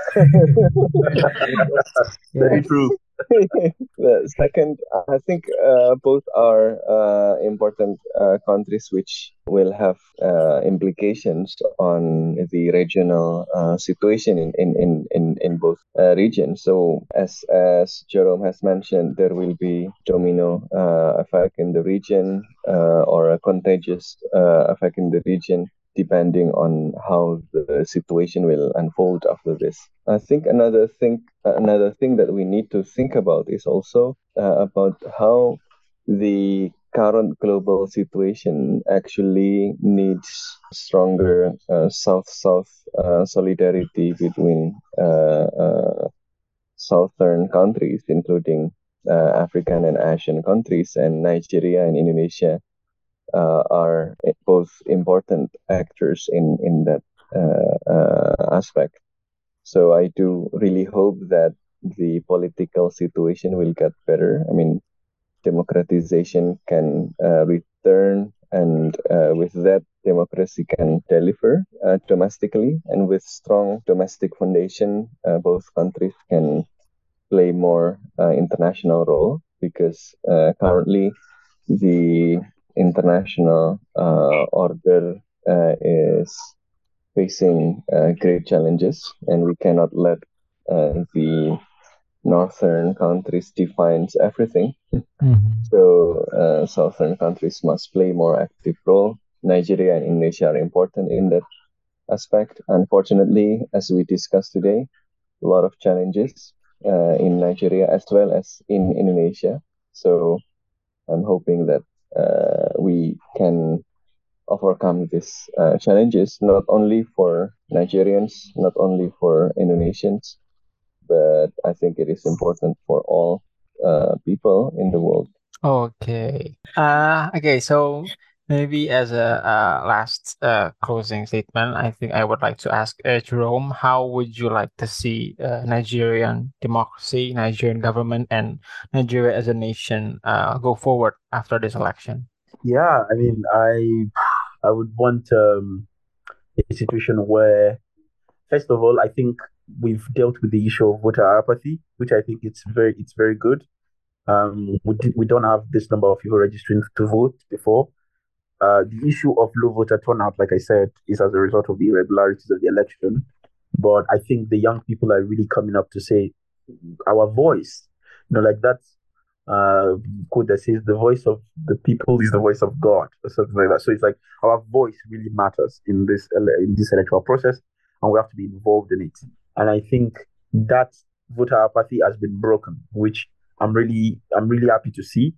Very true. The second, I think both are important countries which will have implications on the regional situation in both regions. So as Jerome has mentioned, there will be domino effect in the region or a contagious effect in the region, depending on how the situation will unfold after this. I think another thing that we need to think about is also about how the current global situation actually needs stronger South-South solidarity between southern countries, including African and Asian countries, and Nigeria and Indonesia are both important actors in that aspect. So I do really hope that the political situation will get better. I mean, democratization can return, and with that, democracy can deliver domestically. And with strong domestic foundation, both countries can play more international role, because currently the international order is facing great challenges, and we cannot let the northern countries defines everything. So southern countries must play more active role. Nigeria and Indonesia are important in that aspect. Unfortunately, as we discussed today, a lot of challenges in Nigeria as well as in Indonesia. So I'm hoping that we can overcome these challenges, not only for Nigerians, not only for Indonesians, but I think it is important for all people in the world. Okay. Okay. So Maybe as a last closing statement, I think I would like to ask Jerome, how would you like to see Nigerian democracy, Nigerian government, and Nigeria as a nation go forward after this election? Yeah, I mean, I would want a situation where, first of all, I think we've dealt with the issue of voter apathy, which I think it's very good. We don't have this number of people registering to vote before. The issue of low voter turnout, like I said, is as a result of the irregularities of the election. But I think the young people are really coming up to say our voice, like that uh, quote that says, "The voice of the people is the voice of God," or something like that. So it's like our voice really matters in this electoral process, and we have to be involved in it. And I think that voter apathy has been broken, which I'm really happy to see.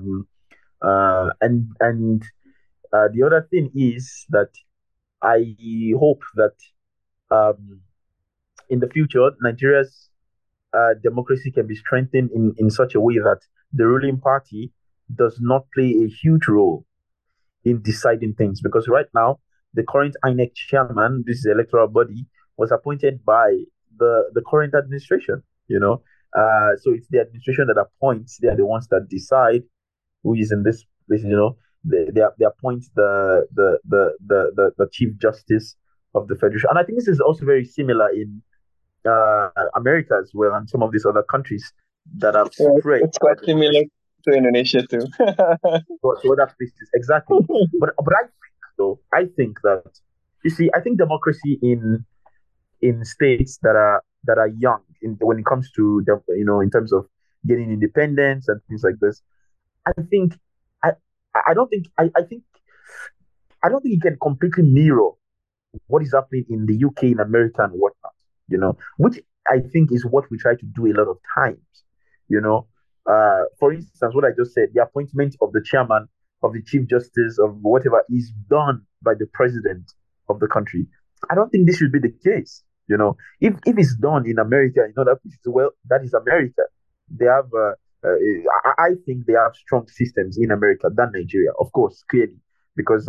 And the other thing is that I hope that um, in the future, Nigeria's democracy can be strengthened in such a way that the ruling party does not play a huge role in deciding things. Because right now, the current INEC chairman, this is the electoral body, was appointed by the current administration. So it's the administration that appoints. They are the ones that decide who is in this place. They appoint the chief justice of the federation, and I think this is also very similar in America as well, and some of these other countries that have spread. It's quite similar to Indonesia too. To other places, exactly. But I think that, you see, I think democracy in states that are young when it comes to in terms of getting independence and things like this. I think I I don't think I don't think it can completely mirror what is happening in the UK, in America, and whatnot, which I think is what we try to do a lot of times, you know. For instance, what I just said, the appointment of the chairman, of the chief justice, of whatever is done by the president of the country. I don't think this should be the case, If it's done in America, in other places, well, that is America. They have, I think they have strong systems in America than Nigeria, of course, clearly, because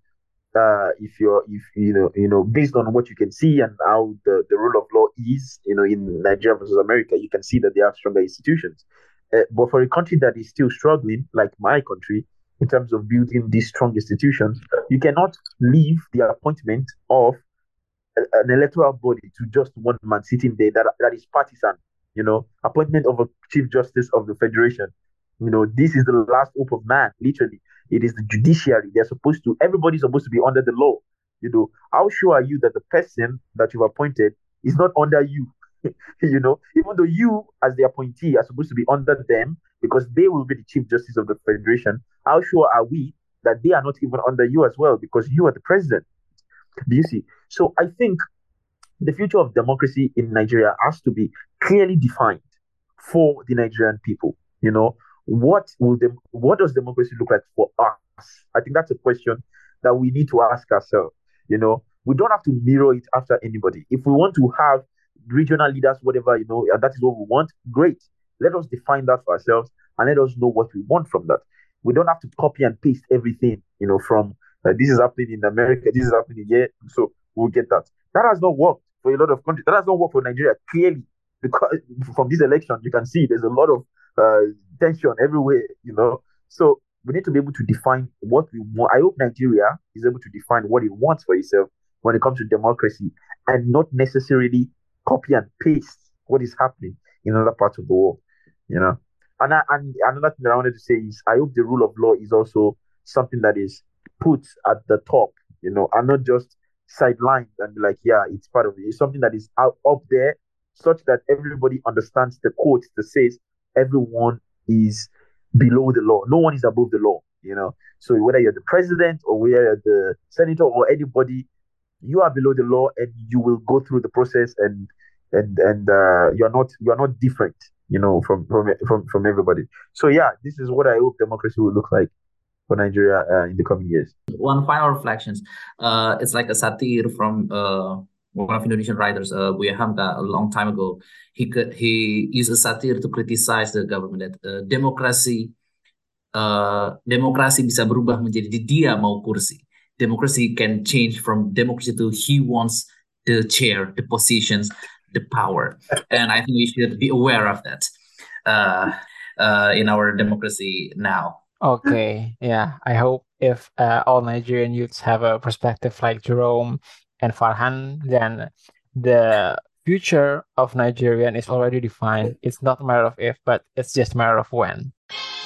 if based on what you can see and how the rule of law is, in Nigeria versus America, you can see that they have stronger institutions. But for a country that is still struggling, like my country, in terms of building these strong institutions, you cannot leave the appointment of an electoral body to just one man sitting there that is partisan. Appointment of a chief justice of the federation. This is the last hope of man. Literally, it is the judiciary. Everybody's supposed to be under the law. How sure are you that the person that you've appointed is not under you? Even though you, as the appointee, are supposed to be under them because they will be the chief justice of the federation. How sure are we that they are not even under you as well because you are the president? Do you see? So I think the future of democracy in Nigeria has to be clearly defined for the Nigerian people. What does democracy look like for us? I think that's a question that we need to ask ourselves. We don't have to mirror it after anybody. If we want to have regional leaders, whatever, and that is what we want, great. Let us define that for ourselves and let us know what we want from that. We don't have to copy and paste everything, from this is happening in America, this is happening here, so we'll get that. That has not worked for a lot of countries. That has not worked for Nigeria, clearly, because from this election, you can see there's a lot of tension everywhere, So we need to be able to define what we want. I hope Nigeria is able to define what it wants for itself when it comes to democracy and not necessarily copy and paste what is happening in other parts of the world, And another thing that I wanted to say is I hope the rule of law is also something that is put at the top, and not just sidelined and be like, yeah, it's part of it. It's something that is out up there such that everybody understands the quote that says everyone is below the law. No one is above the law. So whether you're the president or whether you're the senator or anybody, you are below the law and you will go through the process and you're not different, from everybody. So yeah, this is what I hope democracy will look like for Nigeria in the coming years. One final reflections. It's like a satire from one of Indonesian writers, Buya Hamka, a long time ago. He used a satire to criticize the government that democracy demokrasi bisa berubah menjadi dia mau kursi. Democracy can change from democracy to he wants the chair, the positions, the power. And I think we should be aware of that in our democracy now. Okay, yeah. I hope if all Nigerian youths have a perspective like Jerome and Farhan, then the future of Nigerian is already defined. It's not a matter of if, but it's just a matter of when.